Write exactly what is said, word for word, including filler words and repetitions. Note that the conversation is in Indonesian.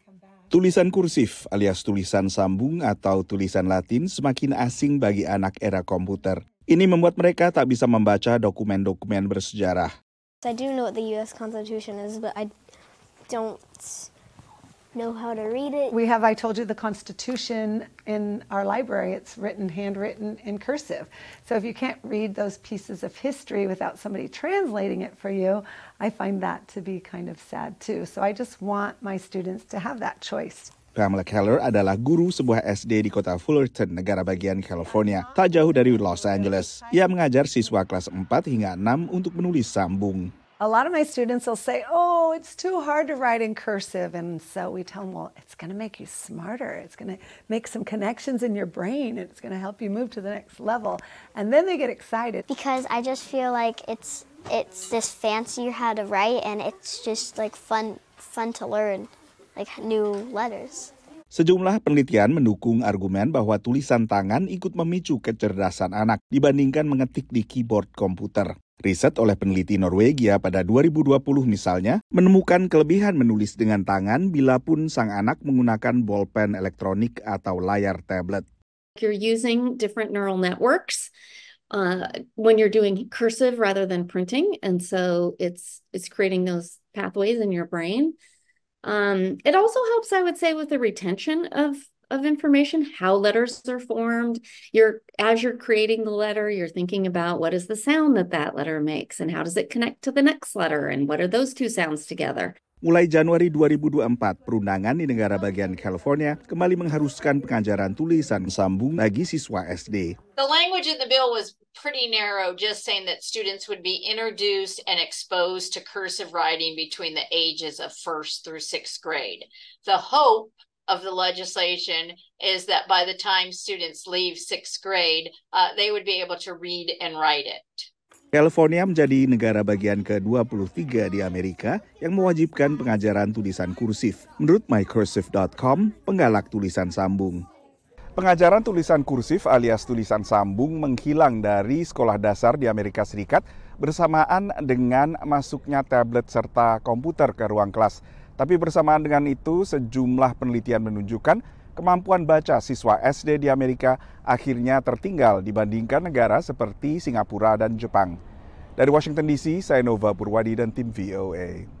Tulisan kursif alias tulisan sambung atau tulisan Latin semakin asing bagi anak era komputer. Ini membuat mereka tak bisa membaca dokumen-dokumen bersejarah. I do know what the U S Constitution is, but I don't know how to read it. We have, I told you, the Constitution in our library. It's written, handwritten in cursive. So if you can't read those pieces of history without somebody translating it for you, I find that to be kind of sad too. So I just want my students to have that choice. Pamela Keller adalah guru sebuah S D di kota Fullerton, negara bagian California, tak jauh dari Los Angeles. Ia mengajar siswa kelas empat hingga enam untuk menulis sambung. A lot of my students will say, oh, it's too hard to write in cursive. And so we tell them, well, it's going to make you smarter. It's going to make some connections in your brain. It's going to help you move to the next level. And then they get excited. Because I just feel like it's it's this fancy how to write, and it's just like fun fun to learn, like new letters. Sejumlah penelitian mendukung argumen bahwa tulisan tangan ikut memicu kecerdasan anak dibandingkan mengetik di keyboard komputer. Riset oleh peneliti Norwegia pada dua ribu dua puluh misalnya menemukan kelebihan menulis dengan tangan bila pun sang anak menggunakan bolpen elektronik atau layar tablet. You're using different neural networks uh, when you're doing cursive rather than printing, and so it's it's creating those pathways in your brain. Um, it also helps, I would say, with the retention of of information, how letters are formed. You're as you're creating the letter, you're thinking about what is the sound that that letter makes and how does it connect to the next letter and what are those two sounds together. Mulai Januari dua ribu dua puluh empat, perundangan di negara bagian California kembali mengharuskan pengajaran tulisan sambung bagi siswa S D. The language in the bill was pretty narrow, just saying that students would be introduced and exposed to cursive writing between the ages of first through sixth grade. The hope of the legislation is that by the time students leave sixth grade, uh, they would be able to read and write it. California menjadi negara bagian ke dua puluh tiga di Amerika yang mewajibkan pengajaran tulisan kursif. Menurut my cursive dot com, penggalak tulisan sambung. Pengajaran tulisan kursif alias tulisan sambung menghilang dari sekolah dasar di Amerika Serikat bersamaan dengan masuknya tablet serta komputer ke ruang kelas. Tapi bersamaan dengan itu, sejumlah penelitian menunjukkan kemampuan baca siswa S D di Amerika akhirnya tertinggal dibandingkan negara seperti Singapura dan Jepang. Dari Washington D C, saya Nova Purwadi dan tim V O A.